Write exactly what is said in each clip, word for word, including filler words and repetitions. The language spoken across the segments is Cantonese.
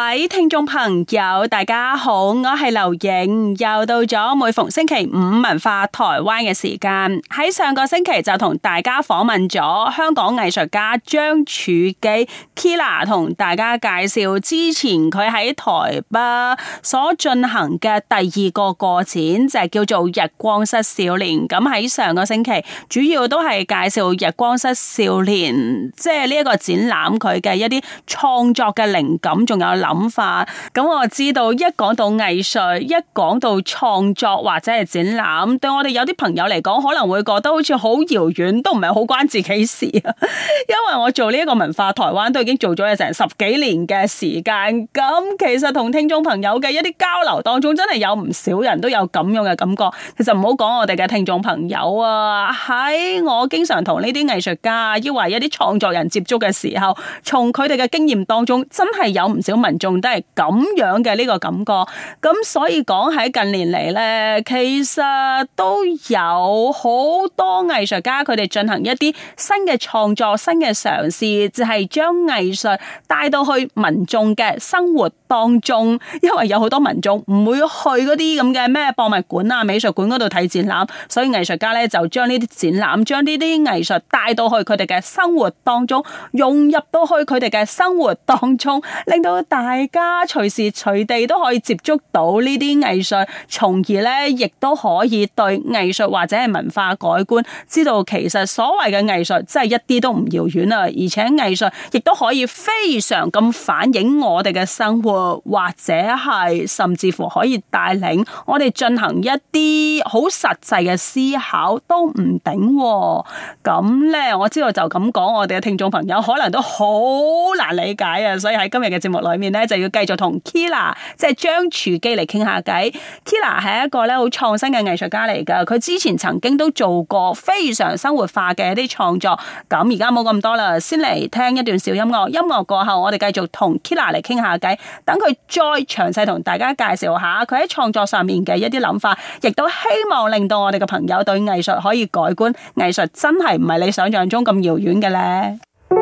位聽眾朋友，大家好，我係劉影，又到咗每逢星期五文化台灣嘅時間。喺上個星期就同大家訪問咗香港藝術家張柱基 Kila， 同大家介紹之前佢喺台北所進行嘅第二個個展，就係叫做日光室少年。咁喺上個星期主要都係介紹日光室少年，即係呢一個展覽佢嘅一啲創作嘅靈感，仲有諗法。咁我知道一講到藝術，一講到創作或者係展覽，對我哋有啲朋友嚟講可能會覺得好似好遙遠，都唔係好關自己事啊。因為我做呢一個文化台灣都已經做咗成十幾年嘅時間，咁其實同聽眾朋友嘅一啲交流當中，真係有唔少人都有咁樣嘅感覺。其實唔好講我哋嘅聽眾朋友啊，喺我經常同呢啲藝術家，抑或一啲創作人接觸嘅時候，從佢哋嘅經驗當中，真係有唔少民眾都係咁樣嘅呢個感覺。咁所以講喺近年嚟呢，其實都有好多藝術家佢哋進行一啲新嘅創作、新嘅嘗試，就係將藝術帶到去民眾嘅生活當中。因為有好多民眾唔會去嗰啲咁嘅咩博物館啊、美術館嗰度睇展覽，所以藝術家呢就將呢啲展覽、將呢啲藝術帶到去佢哋嘅生活當中，融入到去佢哋嘅生活當中，令到大家隨時隨地都可以接觸到呢啲藝術，從而咧亦都可以對藝術或者係文化改觀，知道其實所謂嘅藝術真係一啲都唔遙遠啊！而且藝術亦都可以非常咁反映我哋嘅生活，或者係甚至乎可以帶領我哋進行一啲好實際嘅思考都唔定。咁咧，我知道就咁講，我哋嘅聽眾朋友可能都好難理解啊！所以喺今日嘅節目裏面咧，就要繼續同 Kila 即係張柱基嚟傾下偈。Kila 係一個咧好創新嘅藝術家嚟噶，佢之前曾經都做過非常生活化嘅一啲創作。咁而家冇咁多啦，先嚟聽一段小音樂。音樂過後，我哋繼續同 Kila 嚟傾下偈，等佢再詳細同大家介紹下佢喺創作上面嘅一啲諗法，亦都希望令到我哋嘅朋友對藝術可以改觀。藝術真係唔係你想象中咁遙遠嘅咧。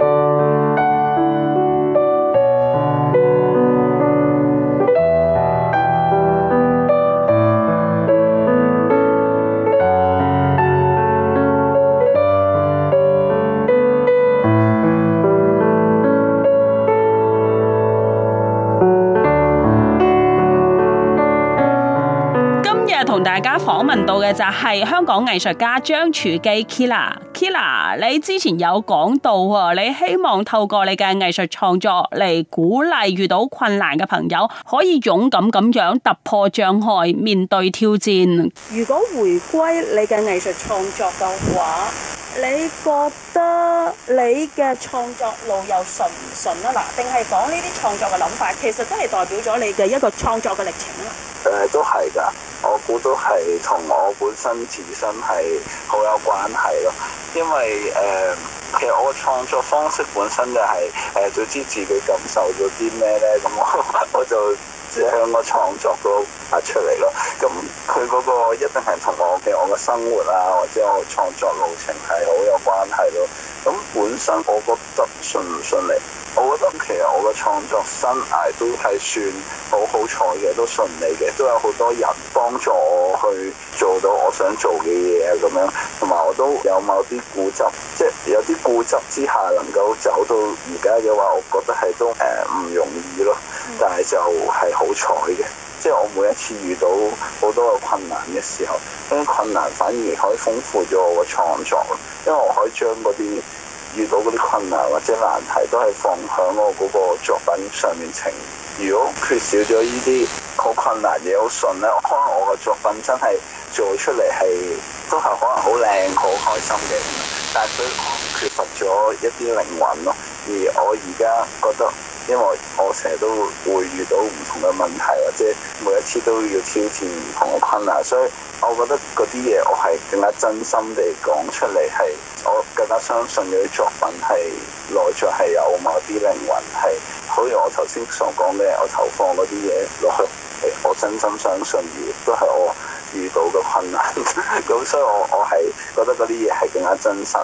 同大家訪問到嘅就係香港藝術家張柱基 Kila。Kila， 你之前有講到啊，你希望透過你嘅藝術創作嚟鼓勵遇到困難嘅朋友，可以勇敢咁樣突破障礙，面對挑戰。如果回歸你嘅藝術創作嘅話，你覺得你嘅創作路又順唔順啊？嗱，定係講呢啲創作嘅諗法，其實都係代表咗你嘅一個創作嘅歷程啊？ 誒、呃，都係㗎，我估都係同我本身自身係好有關係咯。因為誒、呃，其實我嘅創作方式本身就係、是、誒，總、呃、知自己感受咗啲咩咧，咁我我就即係喺個創作度發出嚟咯。咁佢嗰個一定係同我嘅我嘅生活啊，或者我創作路程係好有關係咯。咁本身我覺得順唔順利，我覺得其實我嘅創作生涯都係算好好彩嘅，都順利嘅，都有好多人幫助我去做到我想做嘅嘢啊咁樣，同埋我都有某啲固執，即係有啲固執之下能夠走到而家嘅話，我覺得係都誒唔容易咯，但係就係好彩嘅。即係我每一次遇到好多嘅困難嘅時候，呢啲困難反而可以豐富咗我嘅創作，因為我可以將嗰啲遇到嗰啲困難或者難題都係放喺我嗰個作品上面呈現。如果缺少咗呢啲好困難嘢好順咧，可能我嘅作品真係做出嚟係都係可能好靚好開心嘅，但係佢缺乏咗一啲靈魂咯。而我而家覺得，因為我成日都會遇到唔同嘅問題，或者每一次都要挑戰唔同嘅困難，所以我覺得嗰啲嘢我係更加真心地講出嚟，係我更加相信嗰啲作品係內在係有某啲靈魂，係好似我頭先所講嘅，我投放嗰啲嘢落去，我真心相信，而都係我遇到嘅困難，咁所以我我係覺得嗰啲嘢係更加真實嘅。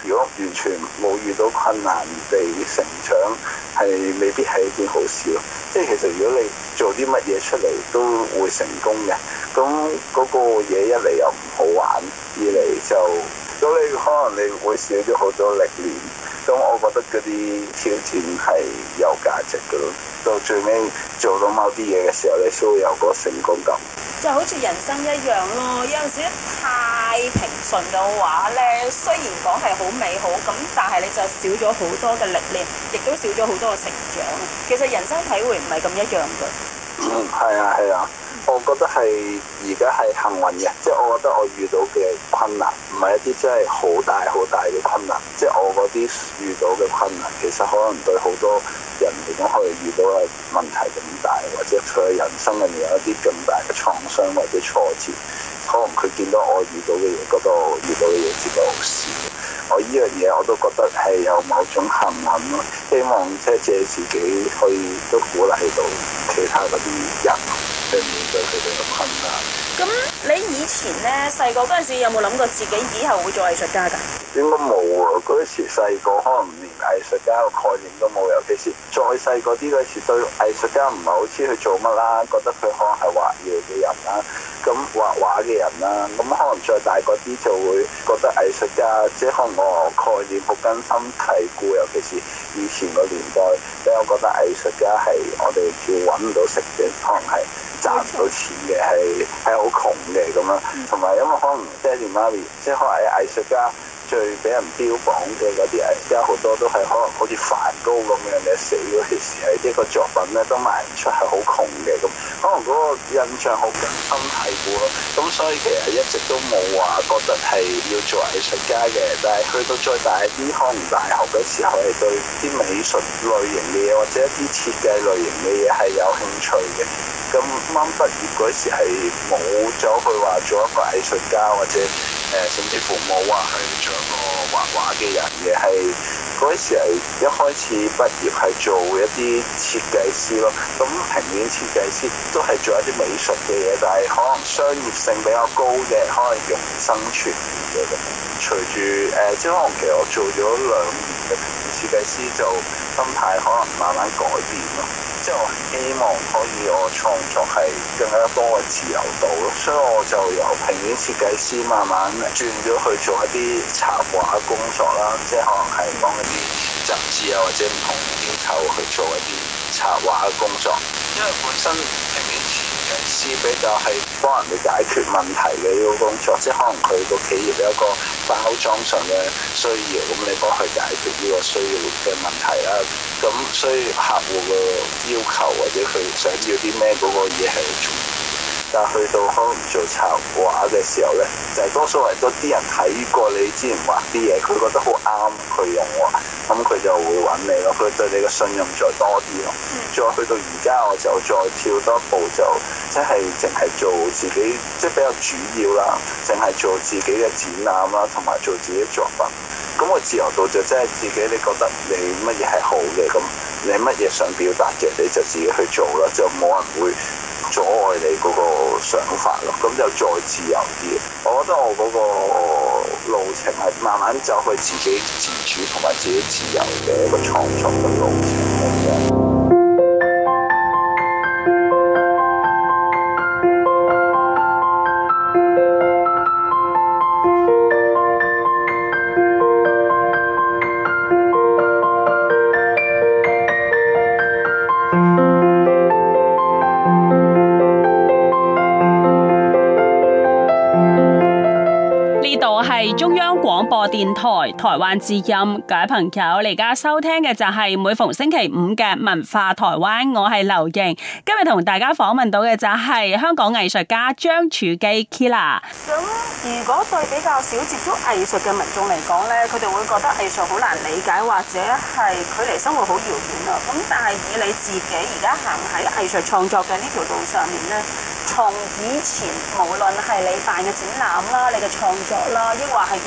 如果完全冇遇到困難地成長，係未必係一件好事咯。即係其實如果你做啲乜嘢出嚟都會成功嘅，咁嗰個嘢一嚟又唔好玩，二嚟就咁你可能你會少咗好多歷練。咁我覺得嗰啲挑戰係有價值嘅咯。到最尾做到某啲嘢嘅時候，你先會有個成功感。 就好似人生一樣咯，有陣時太平順嘅話咧，雖然講係好美好，咁但係你就少咗好多嘅歷練，亦都少咗好多嘅成長。其實人生體會唔係咁一樣嘅。 嗯，係啊，係啊。我覺得係而家係幸運嘅，即係我覺得我遇到嘅困難唔係一啲真係好大好大嘅困難，即係我嗰啲遇到嘅困難，其實可能對好多人嚟講，可能遇到嘅問題咁大，或者佢嘅人生入面有一啲咁大嘅創傷或者挫折，可能佢見到我遇到嘅嘢，覺得我遇到嘅嘢只不過好少。我呢樣嘢我都覺得係有某種幸運咯，希望即係借自己可以都鼓勵到其他嗰啲人去面對佢哋嘅困難。 咁你以前咧細個嗰陣時有冇諗過自己以後會做藝術家㗎？ 應該冇喎，嗰時細個可能連藝術家嘅概念都冇，尤其是再細個啲嗰時對藝術家唔係好知佢做乜啦，覺得佢可能係畫嘢嘅人啦，咁畫畫嘅人啦，咁可能再大個啲就會覺得藝術家即係可能我概念好根深蒂固，尤其是以前個年代，比較覺得藝術家係我哋叫揾唔到食嘅，可能係賺唔到錢嘅，係係好窮嘅咁樣，同埋因為可能爹哋媽咪即係可能藝術家。最俾人標榜嘅嗰啲藝術家好多都係可能好似梵高咁樣嘅，死嗰陣時係一個作品咧都賣唔出，係好窮嘅咁，可能嗰個印象好根深蒂固咯。咁所以其實一直都冇話覺得係要做藝術家嘅，但係去到再大啲，可能大學嘅時候係對啲美術類型嘅嘢或者一啲設計類型嘅嘢係有興趣嘅。咁啱畢業嗰時係冇走去話做一個藝術家，或者誒、呃、甚至乎冇話去做一個畫畫嘅人嘅，係嗰時係一開始畢業係做一啲設計師咯。咁平面設計師都係做一啲美術嘅嘢，但係可能商業性比較高嘅，可能用生存嘅咁。隨住誒、呃，即係可能其實我做咗兩年嘅平面設計師，就心態可能慢慢改變咯。即係我希望可以我創作係更加多嘅自由度咯，所以我就由平面設計師慢慢轉咗去做一啲插畫工作啦，即係可能係幫一啲雜誌啊或者唔同機構去做一啲插畫嘅工作，因為本身平面設計師比較係幫人哋解決問題嘅呢個工作，即係可能佢個企業有一個包裝上嘅需要，咁你幫佢解決呢個需要嘅問題啦。咁所以客戶嘅要求或者佢想要啲咩嗰個嘢係好重要。但係去到可能做插畫嘅時候咧，就係、是、多數係多啲人睇過你之前畫啲嘢，佢覺得好啱佢用喎，咁佢就會揾你咯。佢對你嘅信任再多啲咯。再去到而家我就再跳多一步，就即係淨係做自己，即係比較主要啦，淨係做自己嘅展覽啦，同埋做自己作品。咁個自由度就即係自己，你覺得你乜嘢係好嘅，咁你乜嘢想表達嘅，你就自己去做啦，就冇人會阻礙你嗰個想法咯，咁就再自由啲。我覺得我嗰個路程係慢慢走去自己自主同埋自己自由嘅一個創作嘅路程嚟嘅。 中央廣播電台台灣之音，各位朋友，你而家收聽嘅就係每逢星期五嘅文化台灣，我係劉瑩。今日同大家訪問到嘅就係香港藝術家張柱基 Kila。咁如果對比較少接觸藝術嘅民眾嚟講呢，佢哋會覺得藝術好難理解，或者係距離生活好遙遠啊。咁但係以你自己而家行喺藝術創作嘅呢條路上面呢，從以前無論係你辦嘅展覽啦、你嘅創作啦，抑或係一啲合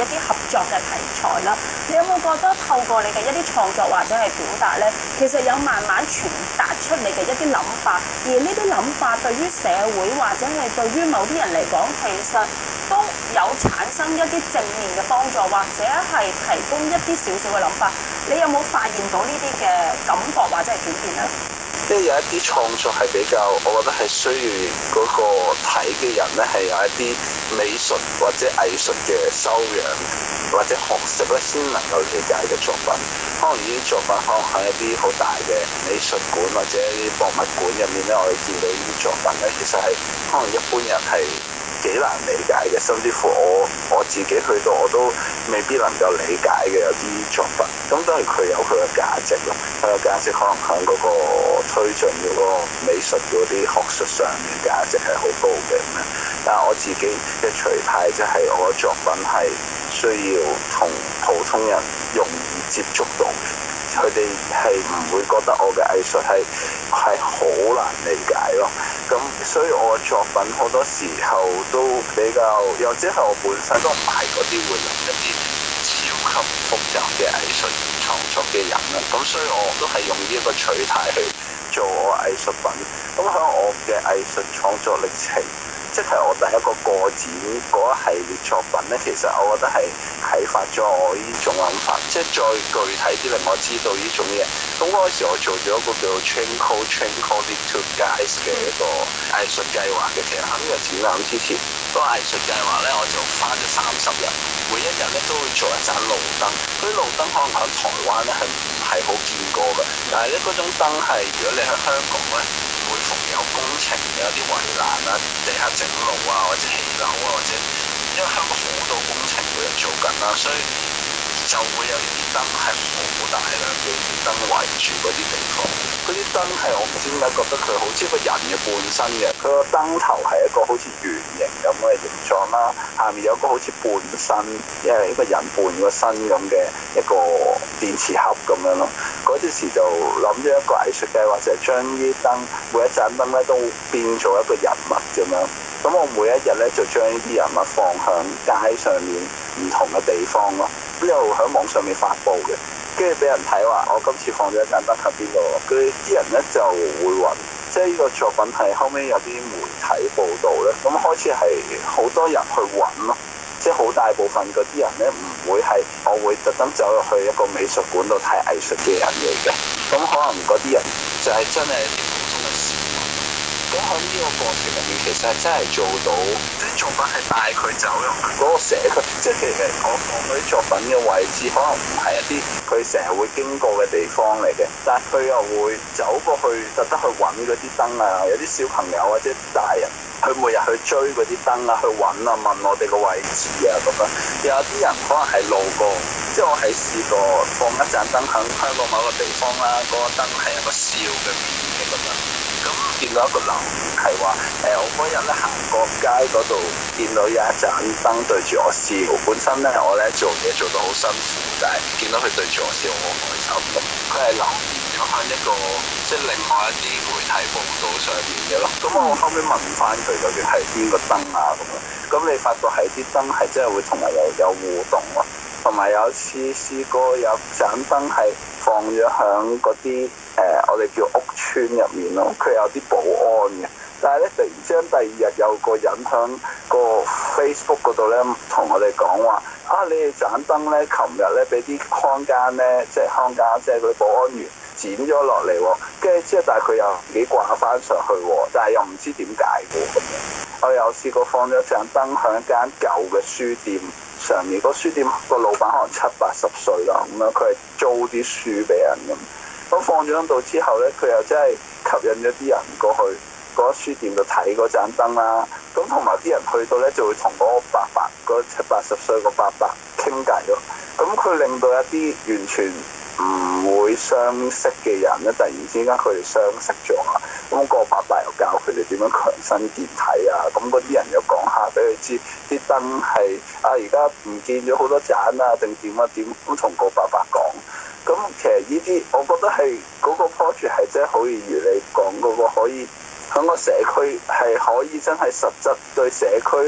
作嘅題材啦。你有冇覺得透過你嘅一啲創作或者係表達咧，其實有慢慢傳達出你嘅一啲諗法，而呢啲諗法對於社會或者係對於某啲人嚟講，其實都有產生一啲正面嘅幫助，或者係提供一啲少少嘅諗法。你有冇發現到呢啲嘅感覺或者係轉變咧？ 即係有一啲創作係比較，我覺得係需要嗰個睇嘅人咧係有一啲美術或者藝術嘅修養或者學識咧，先能夠理解嘅作品。可能呢啲作品可能喺一啲好大嘅美術館或者一啲博物館入面咧，我哋見到呢啲作品咧，其實係可能一般人係幾難理解嘅，甚至乎我我自己去到我都未必能夠理解嘅有啲作品。咁當然佢有佢嘅價值咯，佢嘅價值可能喺嗰個推進嗰個美術嗰啲學術上嘅價值係好高嘅咁樣。但係我自己嘅取態即係我嘅作品係需要同普通人容易接觸到嘅，佢哋係唔會覺得我嘅藝術係係好難理解咯。咁所以我嘅作品好多時候都比較，又或者係我本身都唔係嗰啲會諗一啲超級複雜嘅藝術創作嘅人啦。咁所以我都係用呢一個取態去做我藝術品。咁喺我嘅藝術創作歷程，即係我第一個個展嗰一系列作品咧，其實我覺得係啟發咗我呢種諗法，即係再具體啲令我知道呢種嘢。咁嗰時我做咗一個叫做 Twinkle Twinkle Little Guys 嘅一個藝術計劃嘅。其實喺呢個展覽之前，嗰個藝術計劃咧，我就花咗三十日，每一日咧都會做一盞路燈。嗰啲路燈可能喺台灣咧係唔係好見過嘅，但係咧嗰種燈係如果你喺香港咧，每逢有工程有啲圍欄啊、地下整路啊，或者起樓啊，或者因為香港好多工程每日做緊啦，所以就會有呢啲燈係好大量嘅燈圍住嗰啲地方。嗰啲燈係我唔知點解覺得佢好似個人嘅半身嘅，佢個燈頭係一個好似圓形咁嘅形狀啦，下面有個好似半身，因為一個人半個身咁嘅一個電池盒咁樣咯。嗰陣時就諗咗一個藝術計劃，就係將呢啲燈每一盞燈咧都變做一個人物咁樣。咁我每一日咧就將呢啲人物放向街上面唔同嘅地方咯，咁又喺網上面發布嘅，跟住俾人睇話我今次放咗一盞燈喺邊度，佢啲人咧就會揾，即係呢個作品係後尾有啲媒體報導咧，咁開始係好多人去揾咯，即係好大部分嗰啲人咧唔會係我會特登走入去一個美術館度睇藝術嘅人嚟嘅，咁可能嗰啲人就係真係一啲普通嘅市民。咁喺呢個過程入面，其實係真係做到啲作品係帶佢走入去嗰個社區，即係其實我放嗰啲作品嘅位置，可能唔係一啲佢成日會經過嘅地方嚟嘅，但係佢又會走過去，特登去揾嗰啲燈啊，有啲小朋友或者大人，佢每日去追嗰啲燈啊，去揾啊，問我哋個位置啊咁樣。有啲人可能係路過，即係我係試過放一盞燈喺香港某個地方啦，嗰、那個燈係一個笑嘅面嘅咁樣。咁見到一個留言係話，誒、呃、我嗰日咧行過街嗰度，見到有一盞燈對住我笑。本身咧我咧做嘢做到好辛苦，但係見到佢對住我笑，我好開心咁。佢係留言咗喺一個即係另外一啲媒體報道上面嘅咯。咁我後尾問翻佢究竟係邊個燈啊咁樣，咁你發覺係啲燈係真係會同人有有互動咯。同埋有次試過有盞燈係放咗響嗰啲誒我哋叫屋村入面咯，佢有啲保安嘅。但係咧突然之間第二日有個人響個 Facebook 嗰度咧同我哋講話，啊你哋盞燈咧琴日咧俾啲看更咧即係看更即係嗰啲保安員剪咗落嚟喎，跟住之後但係佢又自己掛翻上去喎，但係又唔知點解嘅咁樣。我有試過放咗盞燈響一間舊嘅書店上面，個書店個老闆可能七八十歲啦，咁樣佢係租啲書俾人咁。咁放咗喺度之後咧，佢又真係吸引咗啲人過去嗰書店度睇嗰盞燈啦。咁同埋啲人去到咧就會同嗰個伯伯，嗰七八十歲個伯伯傾偈咯。咁佢令到一啲完全唔會相識嘅人咧，突然之間佢哋相識咗啊！咁個伯伯又教佢哋點樣強身健體啊！咁嗰啲人又講下俾佢知，啲燈係啊而家唔見咗好多盞啊，定點啊點咁同個伯伯講。咁其實呢啲我覺得係嗰個 project 係真係好易如你講嗰個可以喺個社區係可以真係實質對社區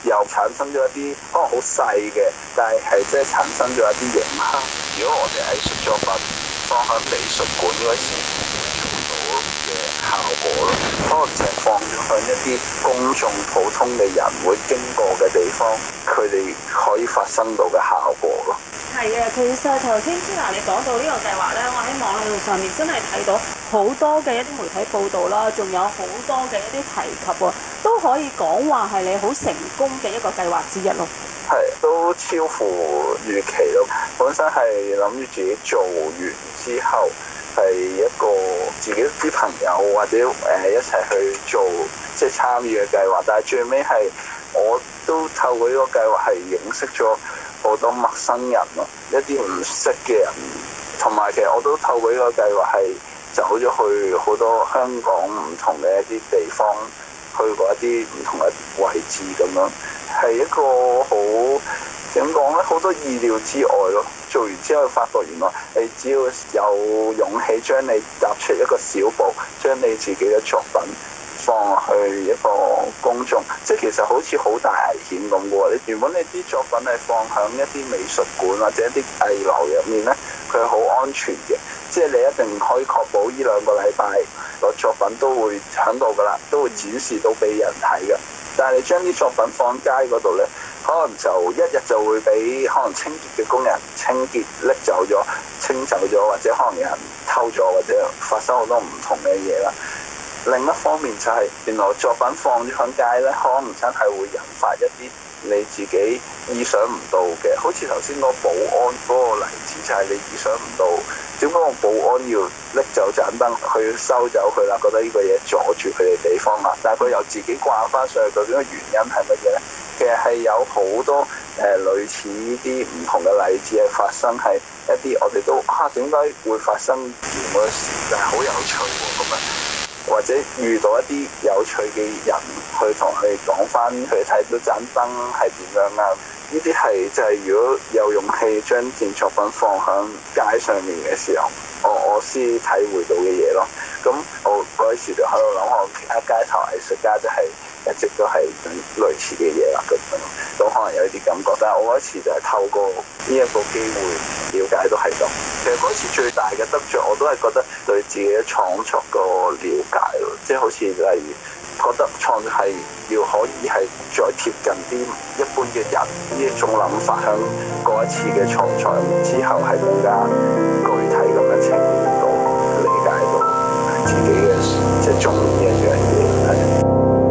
又產生咗一啲可能好細嘅，但係係即係產生咗一啲影響。如果我哋藝術作品放喺美術館嗰時做到嘅效果咯，可能就係放咗喺一啲公眾普通嘅人會經過嘅地方，佢哋可以發生到嘅效果咯。 係啊，其實頭先 Tina 你講到呢個計劃咧，我喺網絡上面真係睇到好多嘅一啲媒體報道啦，仲有好多嘅一啲提及喎，都可以講話係你好成功嘅一個計劃之一咯。 係，都超乎預期咯。本身係諗住自己做完之後，係一個自己啲朋友或者誒一齊去做即係參與嘅計劃，但係最尾係我都透過呢個計劃係認識咗好多陌生人咯，一啲唔識嘅人，同埋其實我都透過呢個計劃係走咗去好多香港唔同嘅一啲地方，去過一啲唔同嘅位置咁樣，係一個好點講咧，好多意料之外咯。做完之後發覺原來你只要有勇氣將你踏出一個小步，將你自己嘅作品放去一個公眾，即係其實好似好大危險咁嘅喎。你原本你啲作品係放響一啲美術館或者一啲藝樓入面咧，佢係好安全嘅，即係你一定可以確保呢兩個禮拜個作品都會響度噶啦，都會展示到俾人睇嘅。但係你將啲作品放街嗰度咧，可能就一日就會俾可能清潔嘅工人清潔拎走咗、清走咗，或者可能有人偷咗，或者發生好多唔同嘅嘢啦。另一方面就係、是、原來作品放咗響街咧，可能真係會引發一啲你自己意想唔到嘅，好似頭先嗰個保安嗰個例子，就係你意想唔到點解個保安要拎走盞燈去收走佢啦，覺得呢個嘢阻住佢哋地方啦，但係佢又自己掛翻上去，究竟個原因係乜嘢咧？其實係有好多誒、呃、類似呢啲唔同嘅例子係發生喺一啲我哋都啊點解會發生咁嘅事，但係好有趣喎咁樣。或者遇到一啲有趣嘅人去同佢哋講翻，佢哋睇到盞燈係點樣啊？呢啲係就係如果有勇氣將件作品放響街上面嘅時候，我我先體會到嘅嘢咯。咁我嗰時就喺度諗，我其他街頭藝術家就係一直都係類似嘅嘢啦。咁咁可能有啲感覺，但係我嗰時就係透過呢一個機會了解到係咁。其實嗰次最大嘅得着，我都係覺得對自己嘅創作個了解咯，即係好似例如覺得創作係要可以係再貼近啲一般嘅人，呢一種諗法響嗰一次嘅創作之後係更加具體咁樣呈現到、理解到自己嘅即係中意一樣嘢係。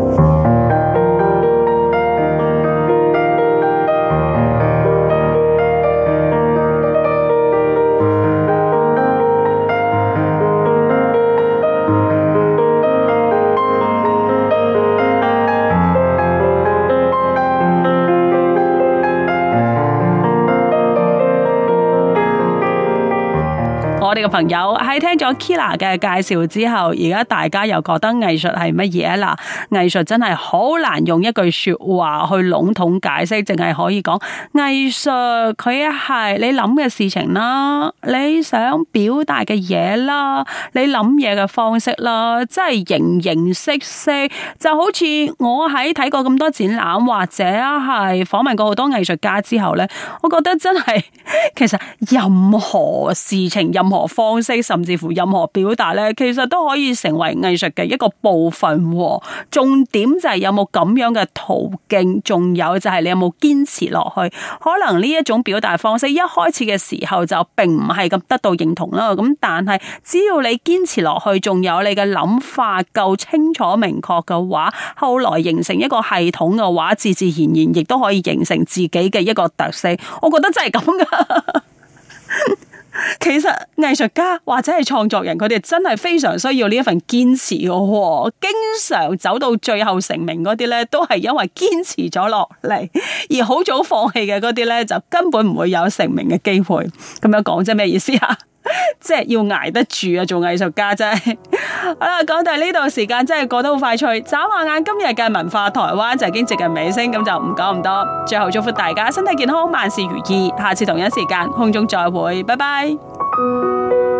我哋嘅朋友喺聽咗 Kira 嘅介紹之後，而家大家又覺得藝術係乜嘢啊？嗱，藝術真係好難用一句說話去籠統解釋，淨係可以講藝術佢係你諗嘅事情啦，你想表達嘅嘢啦，你諗嘢嘅方式啦，即係形形色色，就好似我喺睇過咁多展覽或者係訪問過好多藝術家之後咧，我覺得真係其實任何事情、任何方式，甚至乎任何表達咧，其實都可以成為藝術嘅一個部分。重點就係有冇咁樣嘅途徑，仲有就係你有冇堅持落去。可能呢一種表達方式一開始嘅時候就並唔係咁得到認同啦。咁但係只要你堅持落去，仲有你嘅諗法夠清楚明確嘅話，後來形成一個系統嘅話，自自然然亦都可以形成自己嘅一個特色。我覺得真係咁噶。其實藝術家或者係創作人，佢哋真係非常需要呢一份堅持嘅，經常走到最後成名嗰啲咧，都係因為堅持咗落嚟，而好早放棄嘅嗰啲咧，就根本唔會有成名嘅機會。咁樣講即係咩意思啊？即係要捱得住啊！做藝術家真係好啦，講到呢度時間真係過得好快脆，眨下眼今日嘅文化台灣就已經接近尾聲，咁就唔講咁多。最後祝福大家身體健康，萬事如意。下次同一時間空中再會，拜拜。